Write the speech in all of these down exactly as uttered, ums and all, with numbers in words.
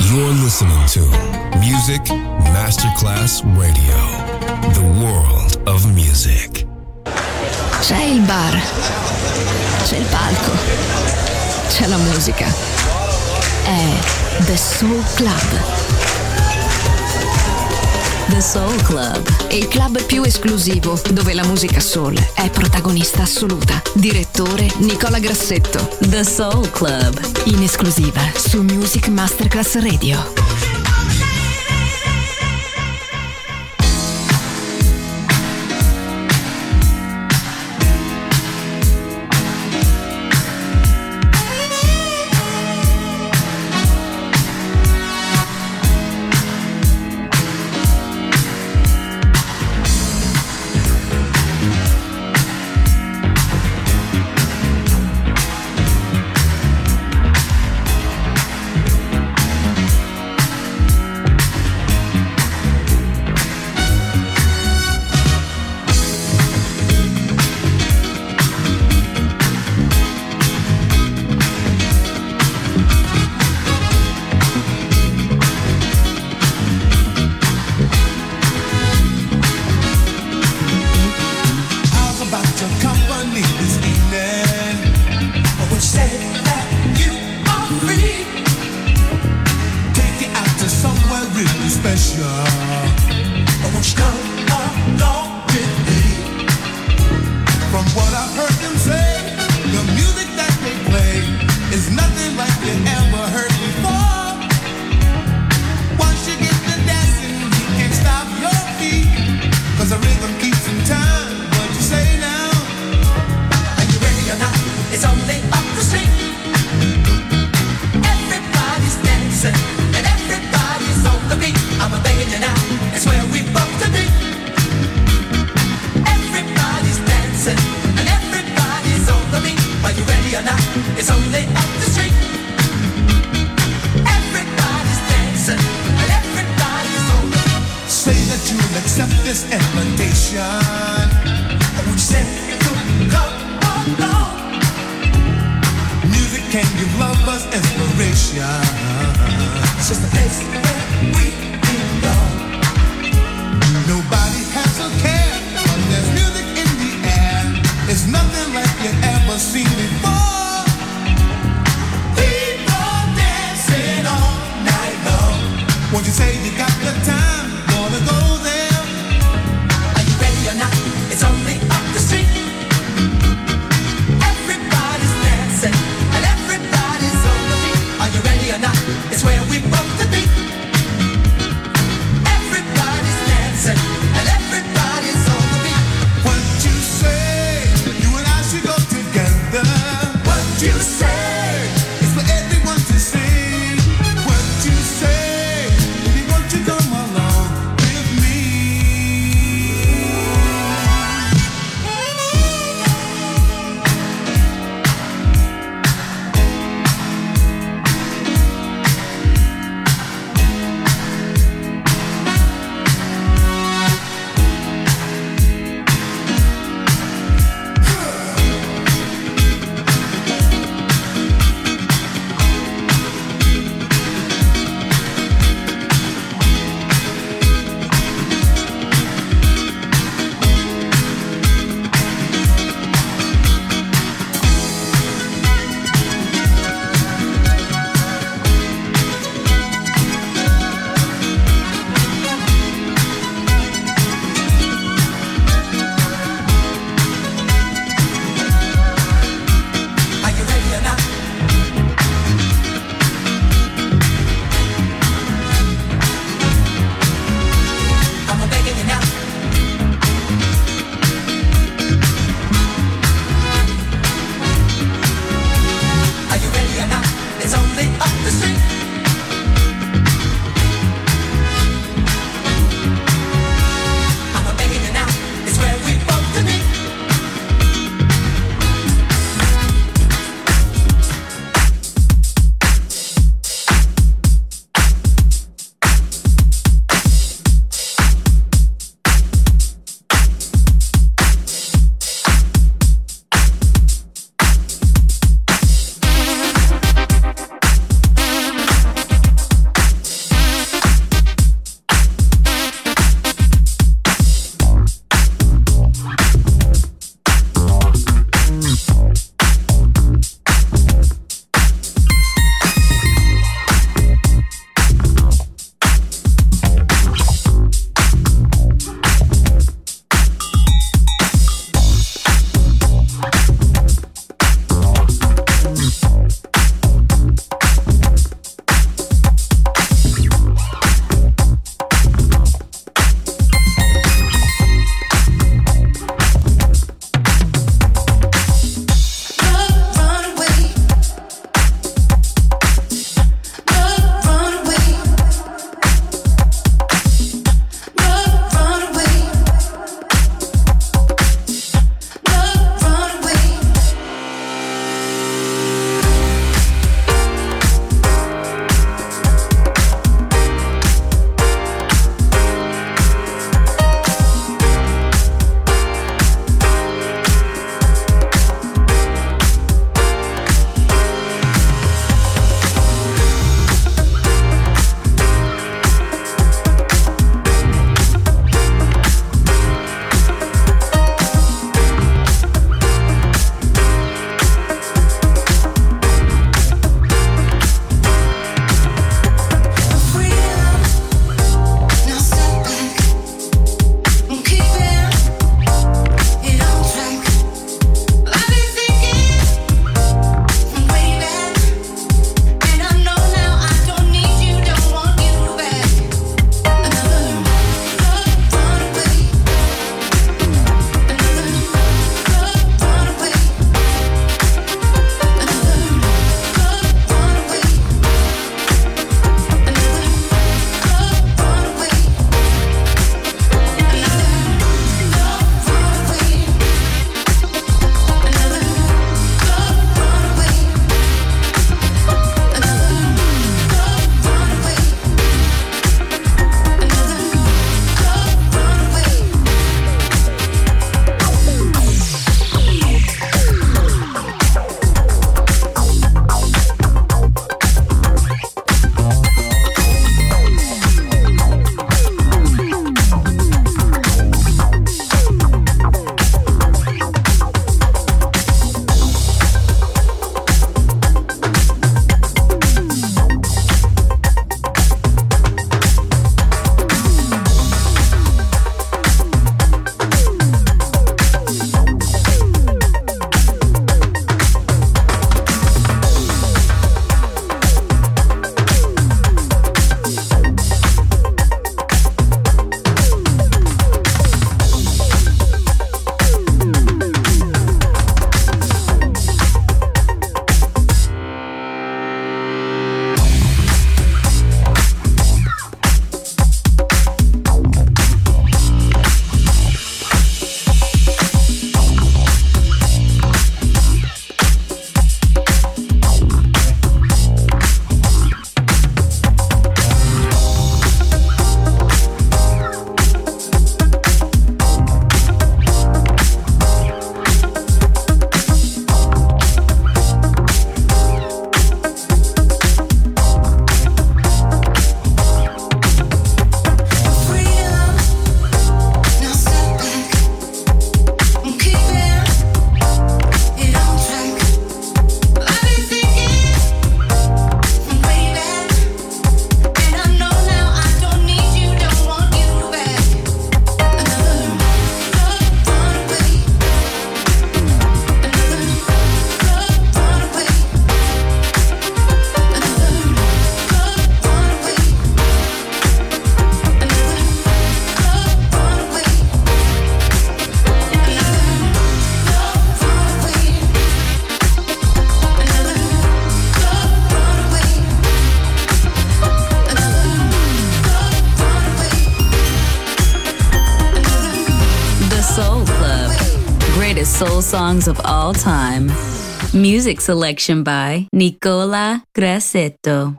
You're listening to Music Masterclass Radio, the world of music. C'è il bar, c'è il palco, c'è la musica. È The Soul Club. The Soul Club, il club più esclusivo dove la musica soul è protagonista assoluta. Direttore Nicola Grassetto. The Soul Club, in esclusiva su Music Masterclass Radio. soul songs of all time. Music selection by Nicola Grassetto.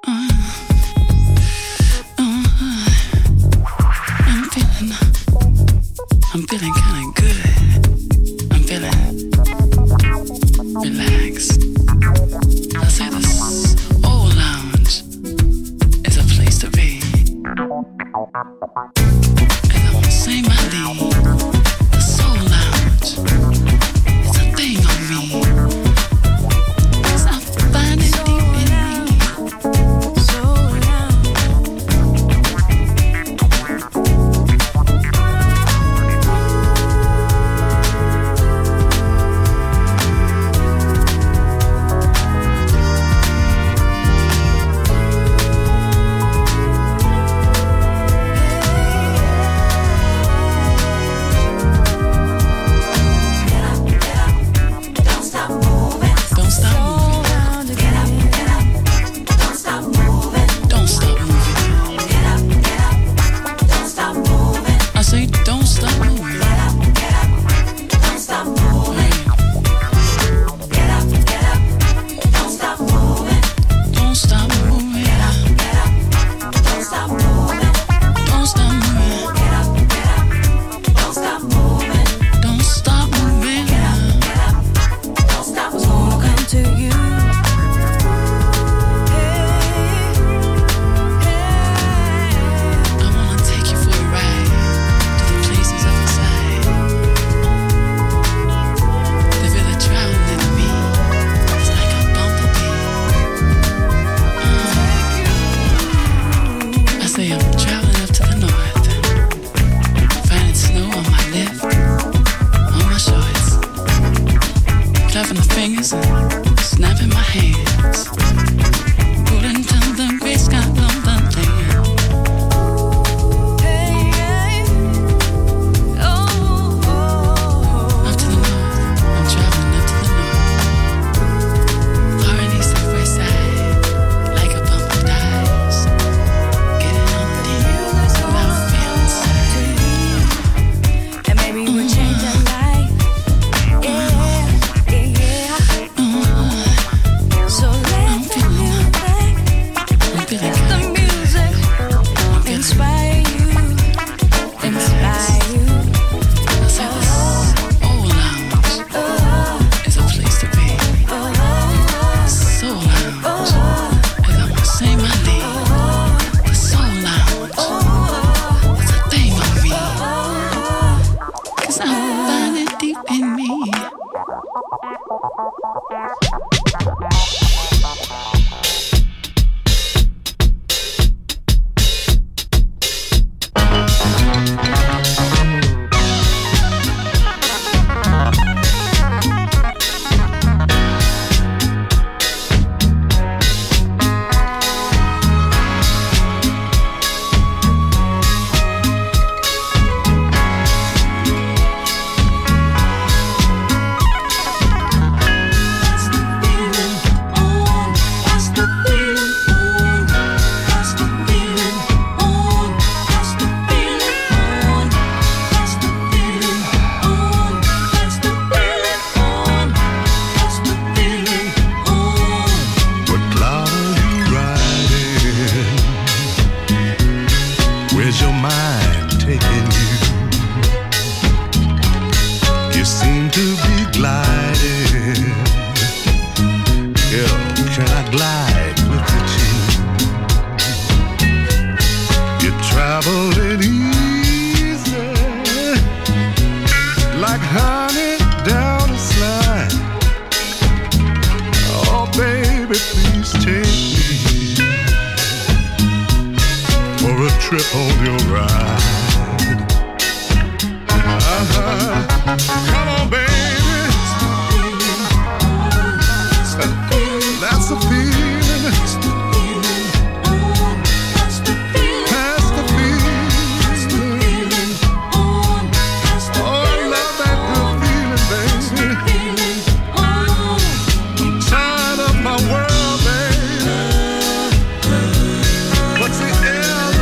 I'm feeling kinda good. I'm feeling relaxed. I say this old lounge is a place to be. And I wanna say my lead. The soul lounge is a thing on me. 'Cause I find it deep in me. Soul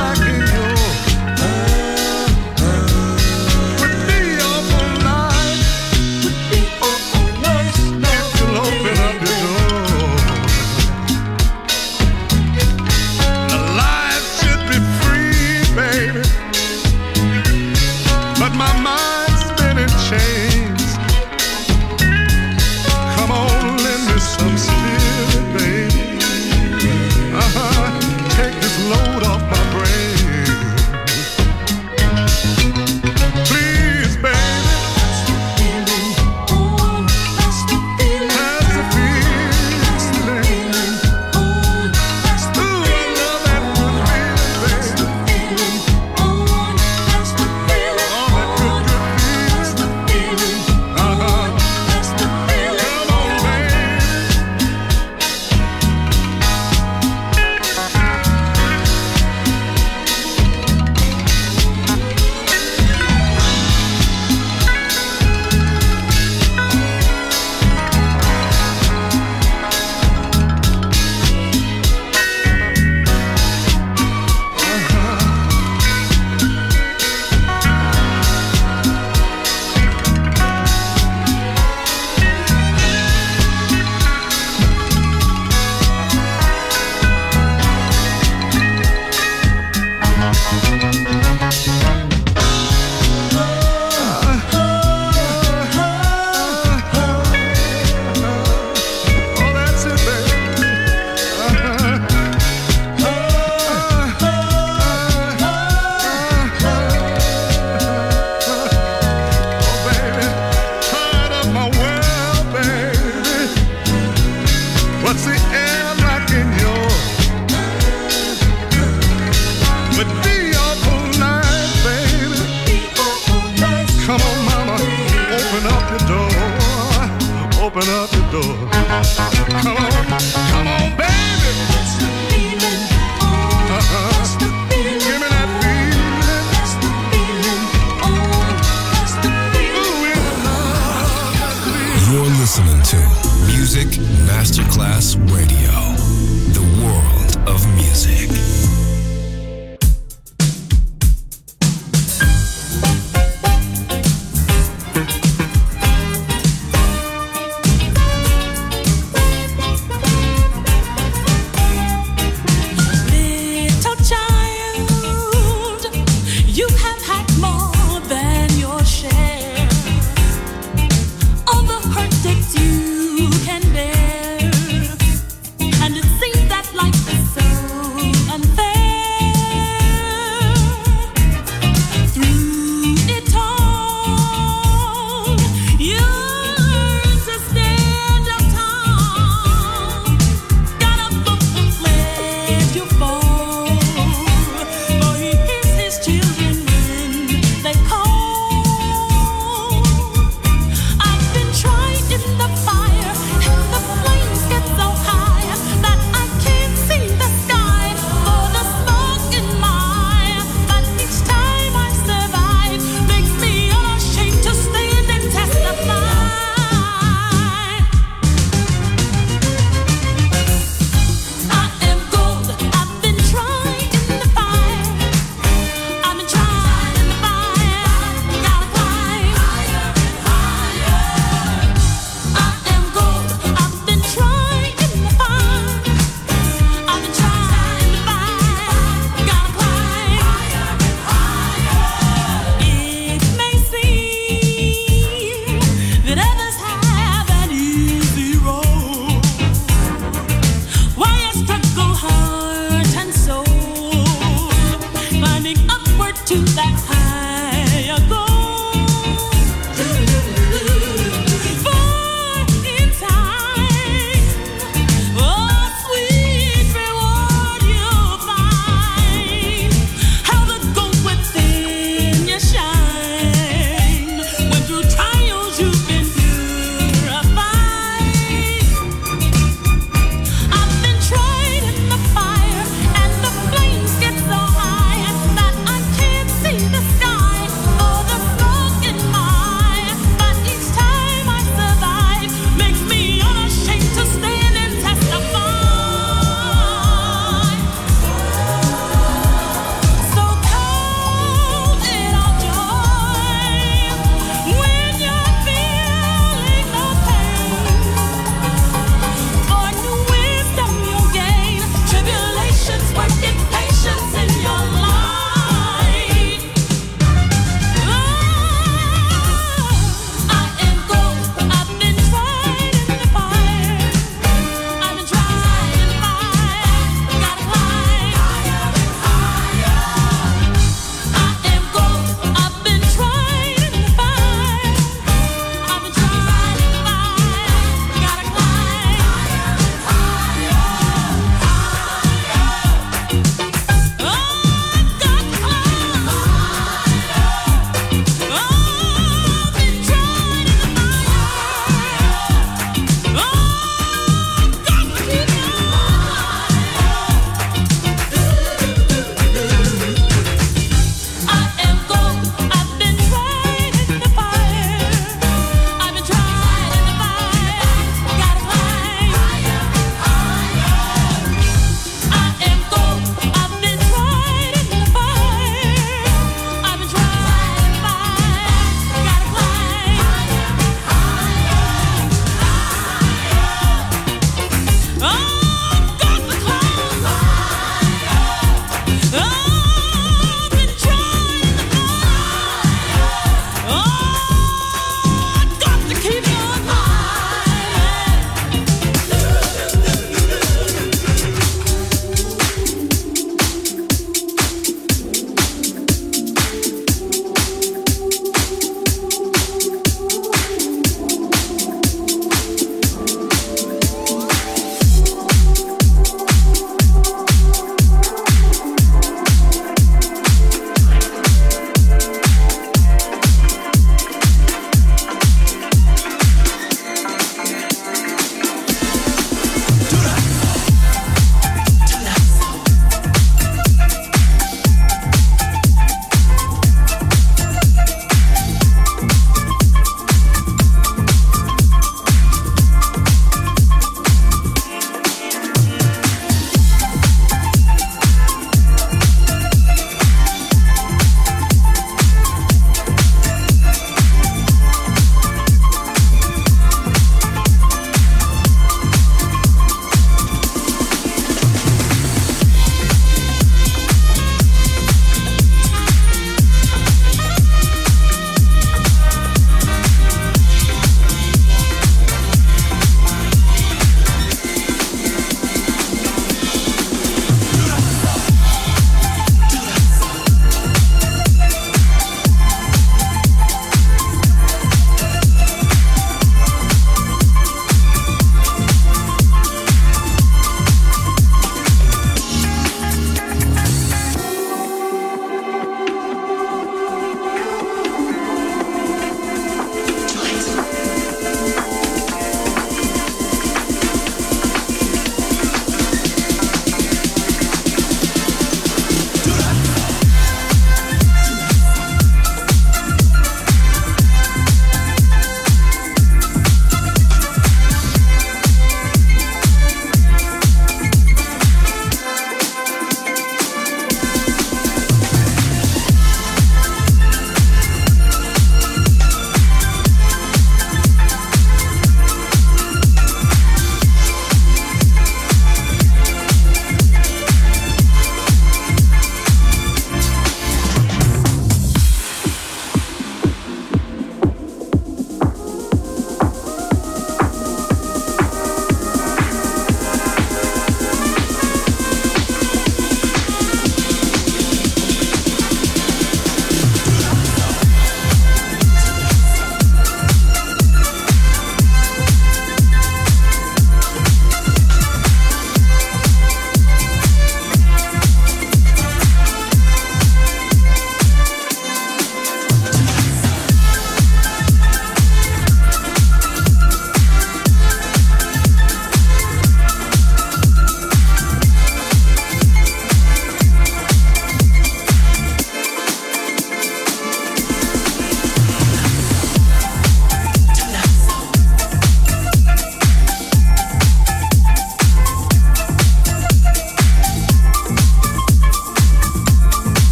With me all night. See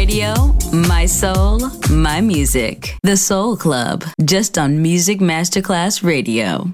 radio, my soul, my music. The Soul Club, just on Music Masterclass Radio.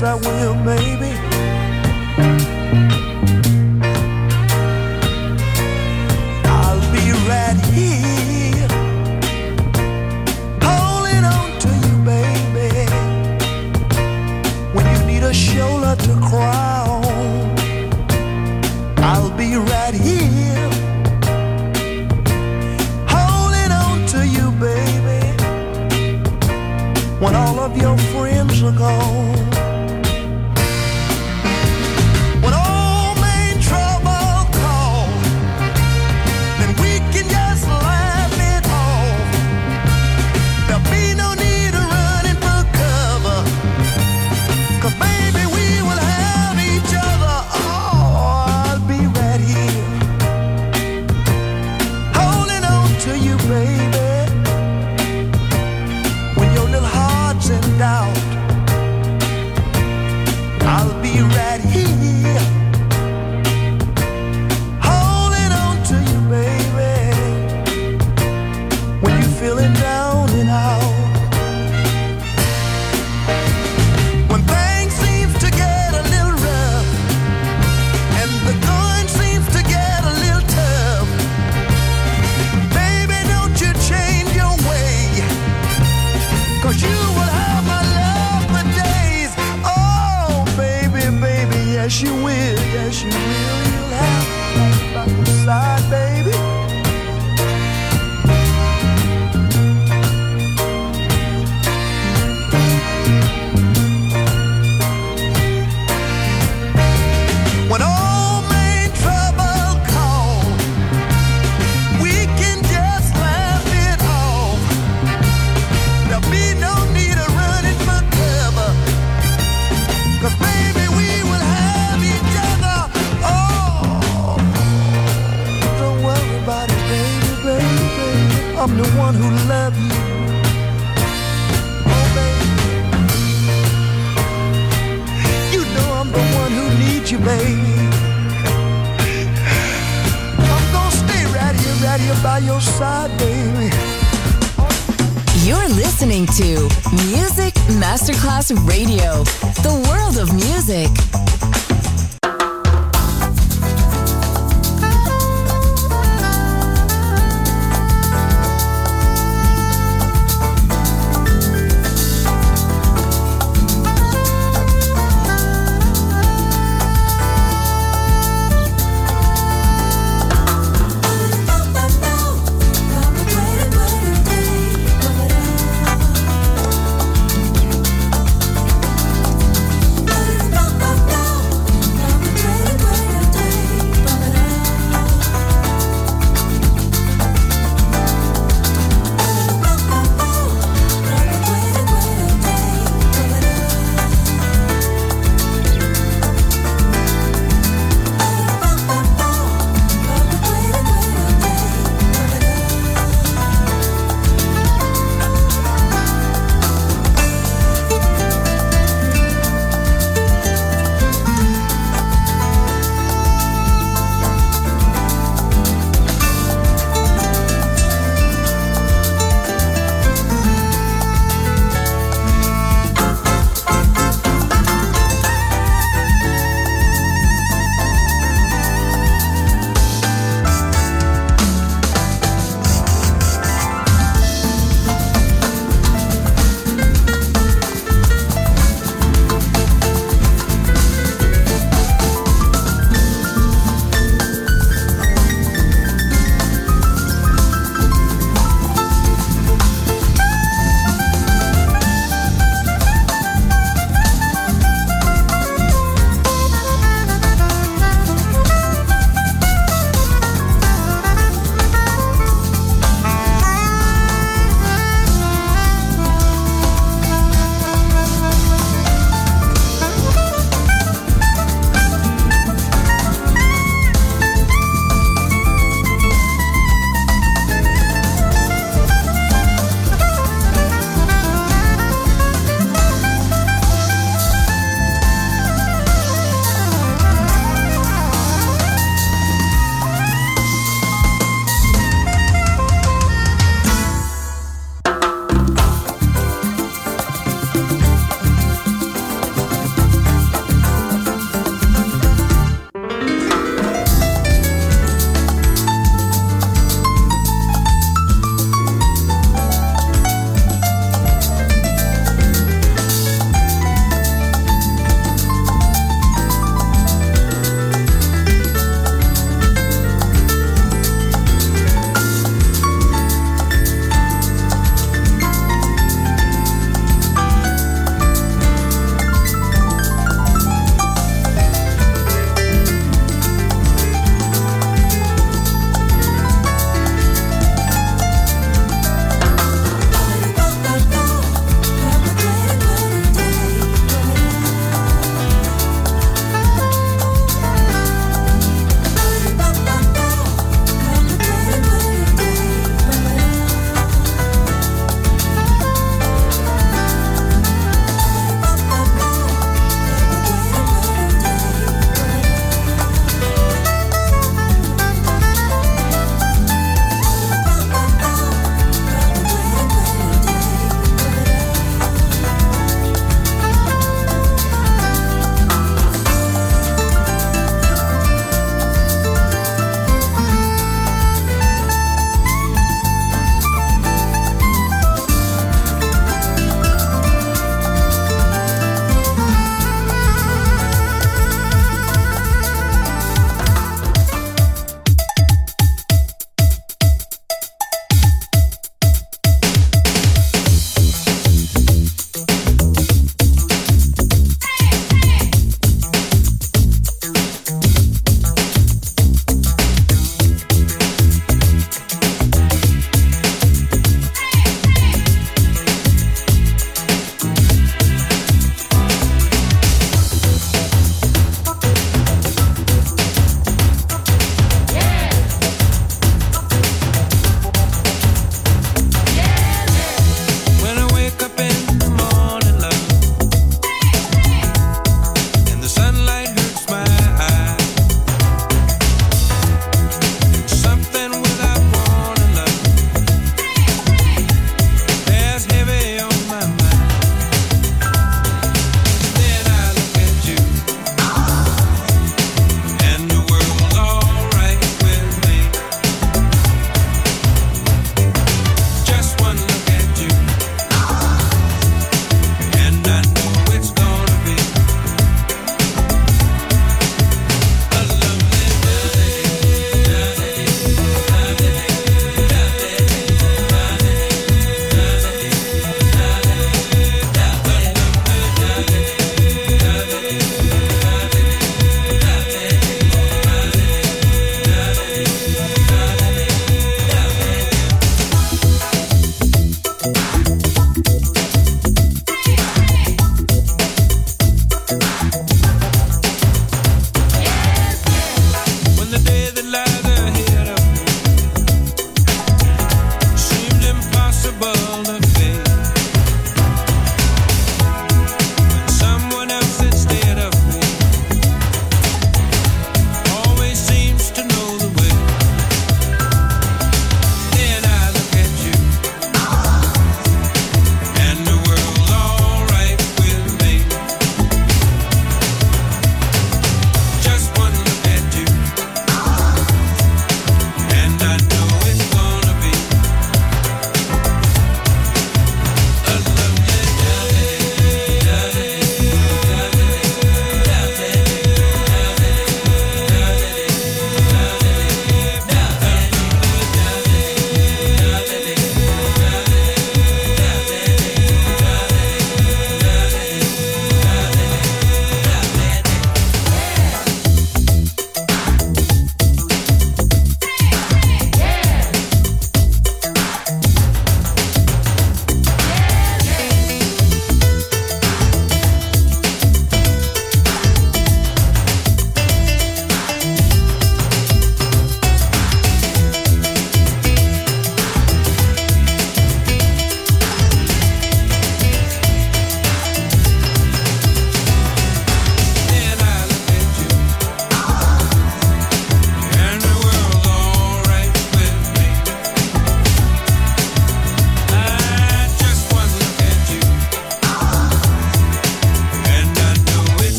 yes I will, baby. I'll be right here, holding on to you, baby. When you need a shoulder to cry on, I'll be right here, holding on to you, baby. When all of your friends are gone, when all main trouble calls, then we can just laugh it off. There'll be no need of running for cover, 'cause baby we will have each other. Oh, I'll be right here, holding on to you, baby. When your little heart's in doubt, I'll be right here, holding on to you, baby. When you're feeling down and out, when things seem to get a little rough and the going seems to get a little tough, baby, don't you change your way, 'cause you will have my love for days. Oh, baby, baby, yes you will, yes you will. You'll have me by your side, baby. When all main trouble calls, we can just laugh it off. There'll be no need of running for cover, 'cause baby we will have each other. Oh, don't worry about it, baby, baby, baby. I'm the one who loves you. Oh, baby, you know I'm the one who needs you, baby. I'm gonna stay right here, right here by your side, baby. You're listening to Music Masterclass Radio, the world of music. Bye.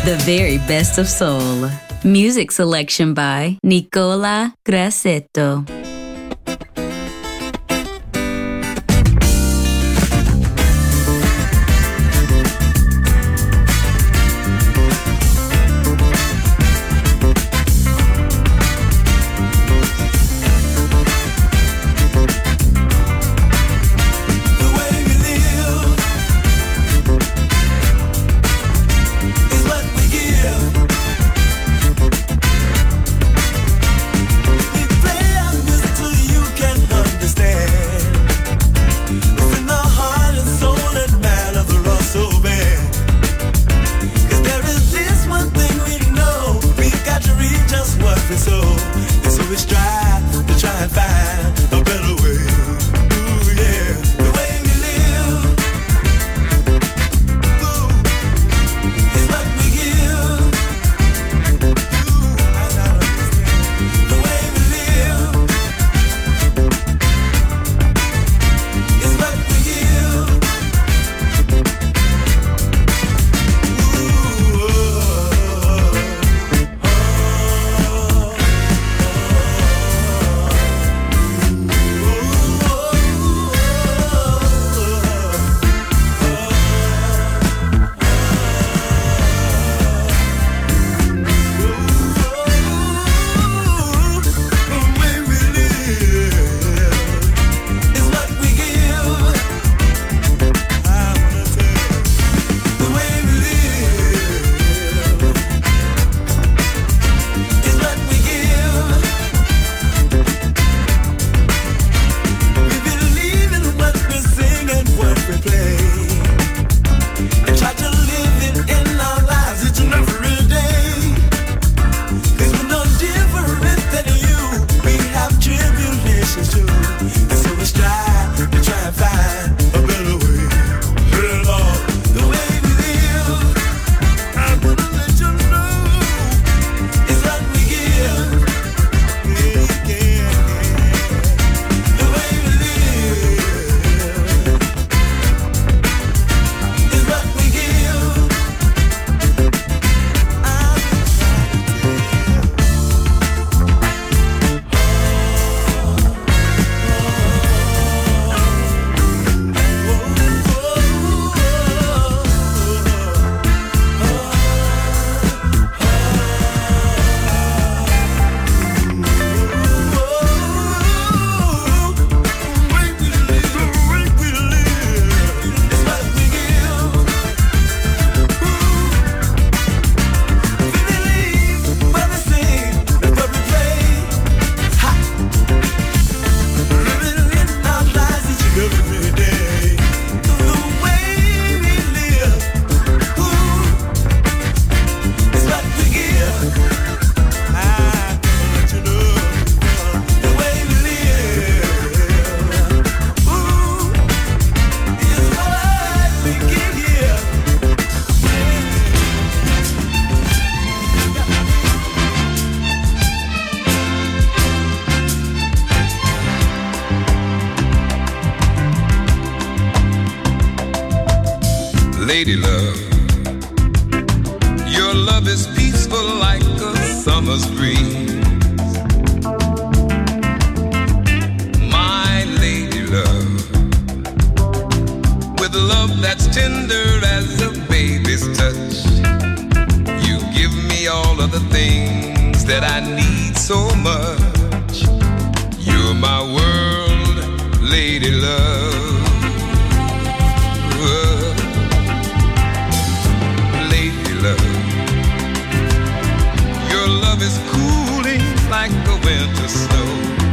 The very best of soul. Music selection by Nicola Grassetto. Lady love, your love is peaceful like a summer's breeze. My lady love, with love that's tender as a baby's touch, you give me all of the things that I need so much. You're my world, lady love. Love. Your love is cooling like the winter snow.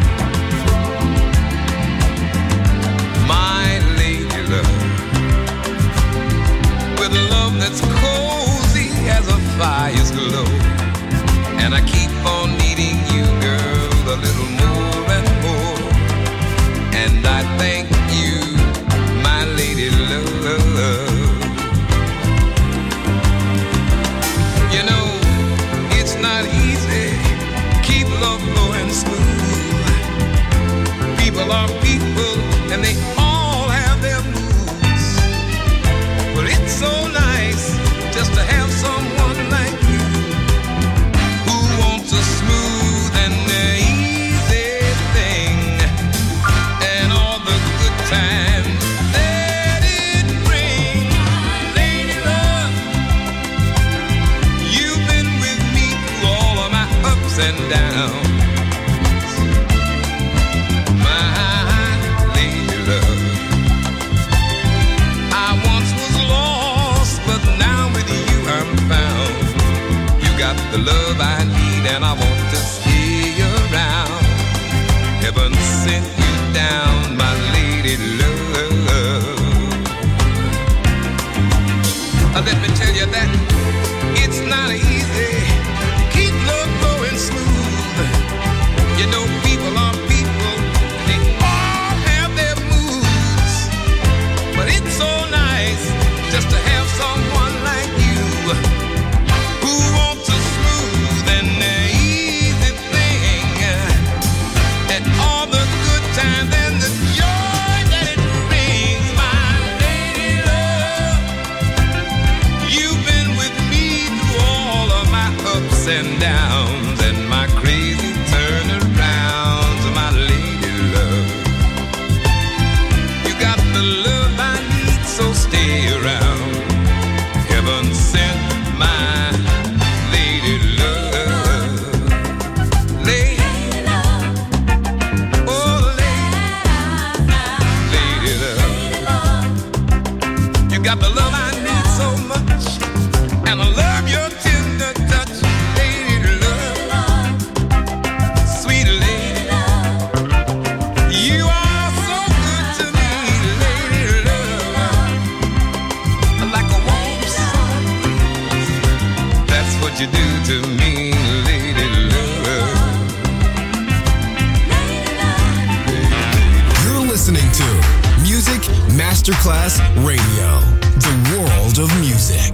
My lady love, with love that's cozy as a fire's glow. And I keep on needing you, girl, a little more and more. And I thank you, my lady love. You know, it's not easy, keep love flowing smooth. People are people, and they all have their moods. But it's so nice just to have someone like and downs. My lady love, I once was lost, but now with you I'm found. You got the love I need and I want to stay around. Heaven sent you down, my lady love. Uh, let me tell you that it's not easy to keep love going smooth. You know people are people, they all have their moods. But it's so nice just to have someone like you who wants a smooth and easy thing. And all the good times and the joy that it brings, my lady love. You've been with me through all of my ups and downs and my crazy turnarounds, my lady love. You got the love I need, so stay around. Heaven sent my lady love. Lady love. Oh, lady, lady love. You got the love I need so much, and I love your tender touch, lady love. Sweet lady love. You are so good to me, lady love. Like a warm sun, that's what you do to me, lady love. You're listening to Music Masterclass Radio, the world of music.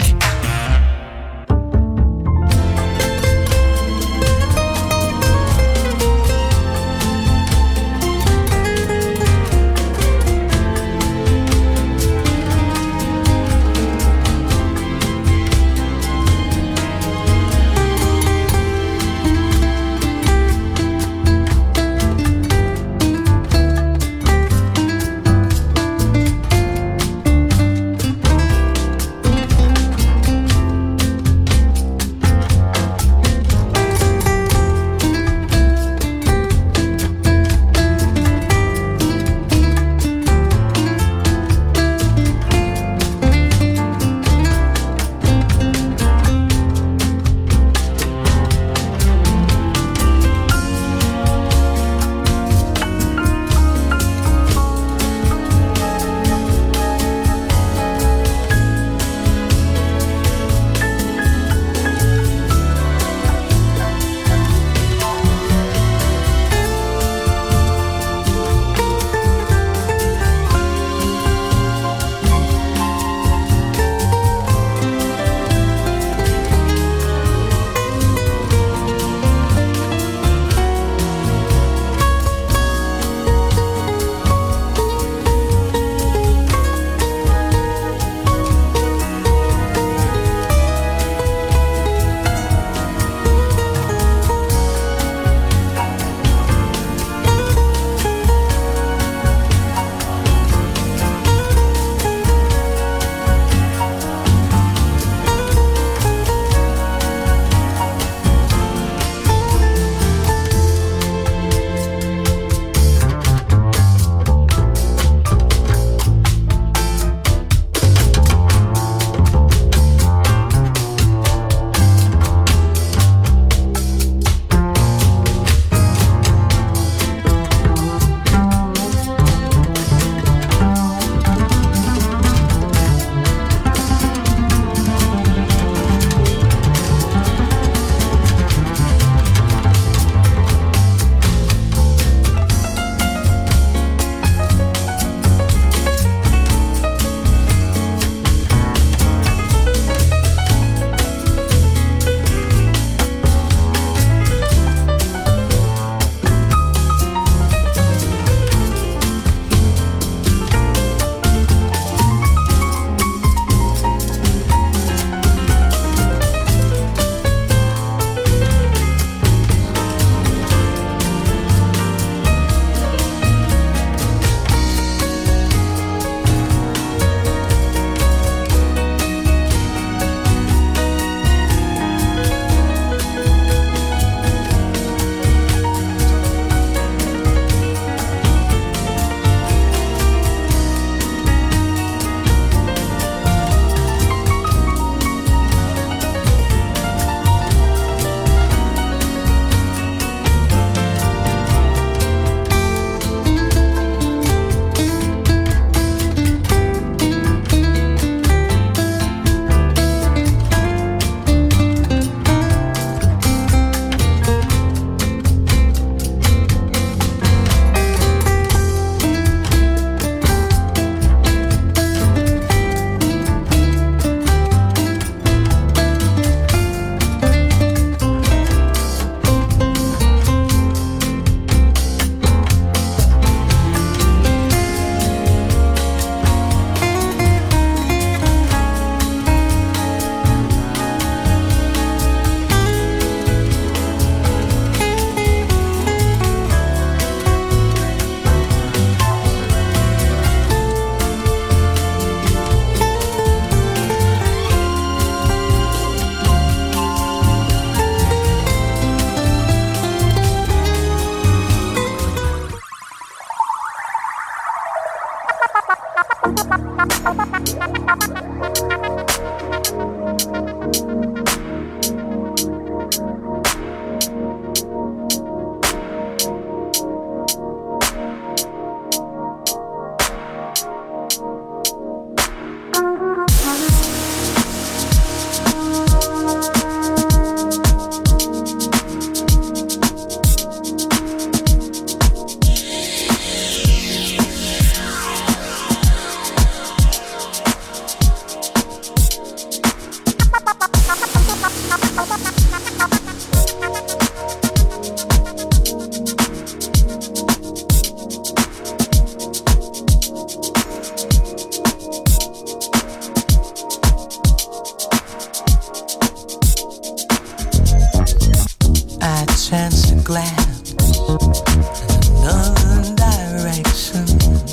glance in another direction.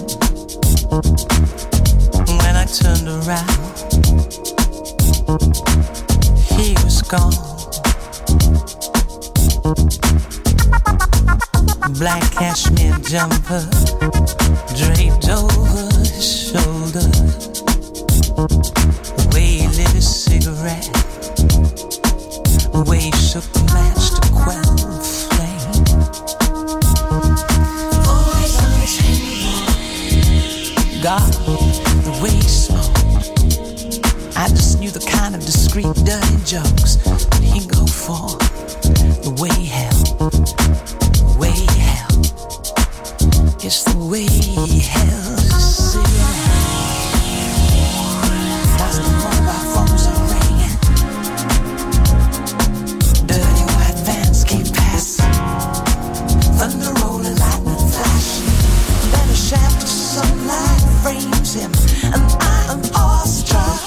When I turned around, he was gone. Black cashmere jumper draped over his shoulders. The way he lit his cigarette, the way he shook the match to quell the flame. Always on his hand. God, the way he smoked, I just knew the kind of discreet, dirty jokes that he'd go for. The way he held, the way he held, it's the way he held his cigarette. That's the mobile phones are ringing. Dirty white vans keep passing. Thunder rolling, lightning flashing. Then a shaft of sunlight frames him, and I am awestruck.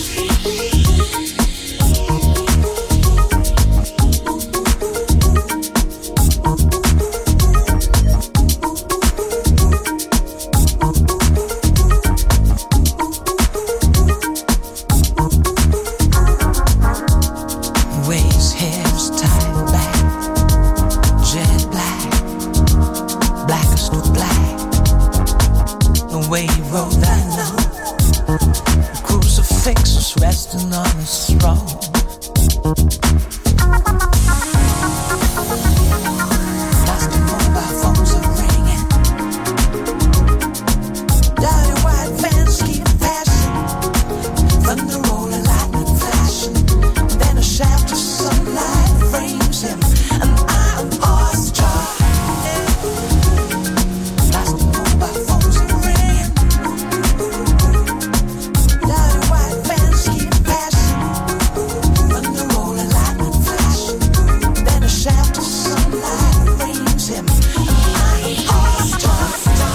Resting on his throne. As the mobile phones are ringing, dirty white vans keep passing. Thunder rolling, lightning flashing. Then a shaft of sunlight frames him, and I'm awestruck. As the mobile phones are ringing, dirty white vans keep passing. Thunder rolling, lightning flashing. Then a shaft of sunlight frames him, and I'm awestruck.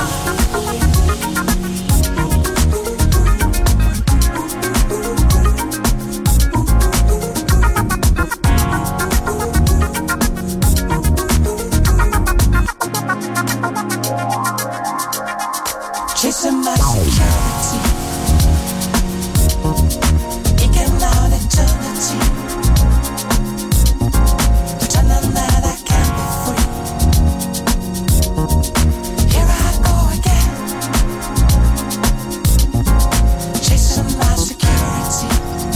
Chasing my security, eking out eternity, pretending that I can't be free. Here I go again, chasing my security,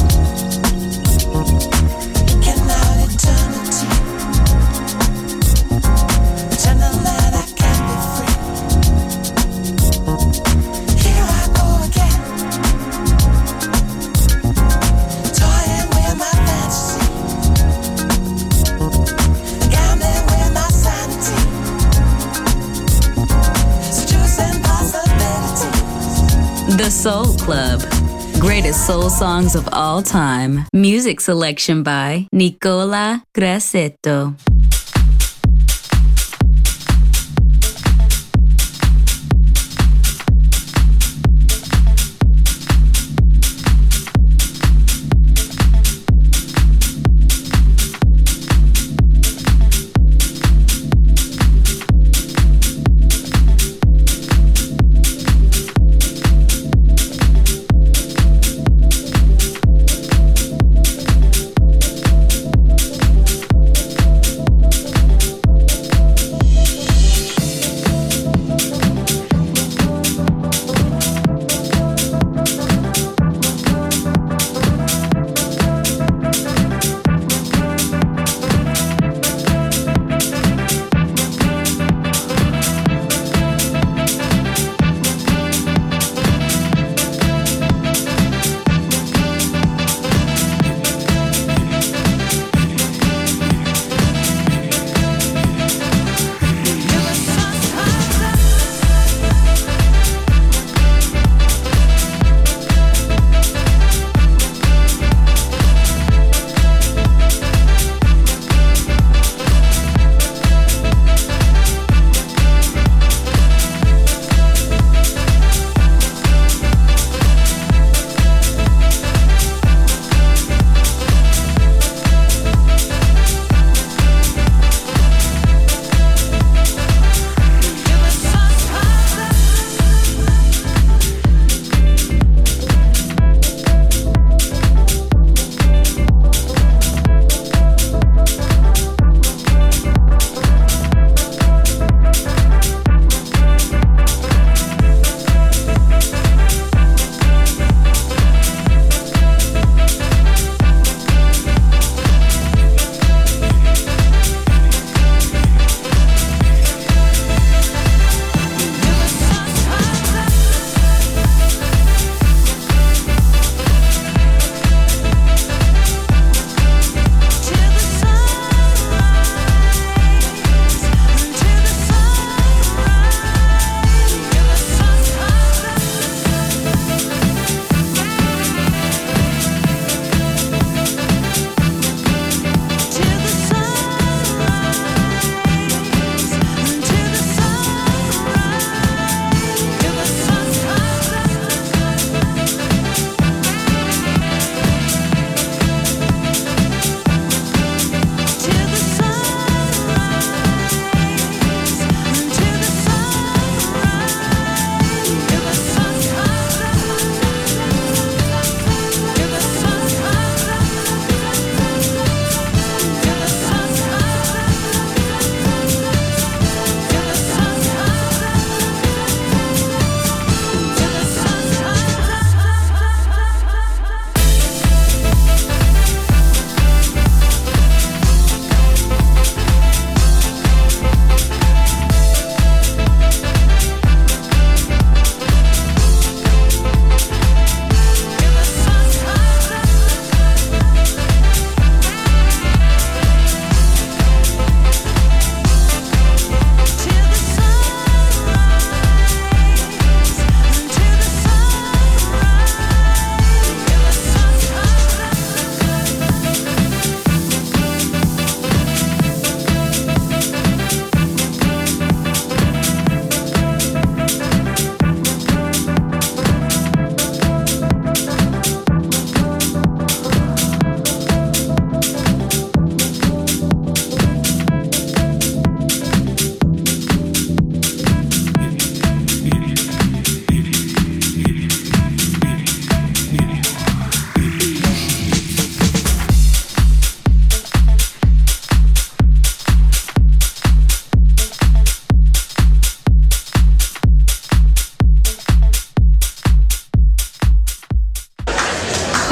eking out eternity, pretending that I can't be free. Here I go again, toying with my fantasy, gambling with my sanity, seducing possibilities. The Soul Club. Greatest soul songs of all time. Music selection by Nicola Grassetto. Thank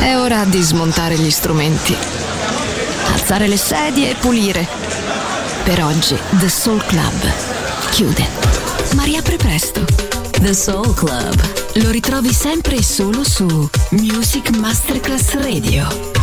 È ora di smontare gli strumenti, alzare le sedie e pulire. Per oggi The Soul Club chiude, ma riapre presto. The Soul Club. Lo ritrovi sempre e solo su Music Masterclass Radio.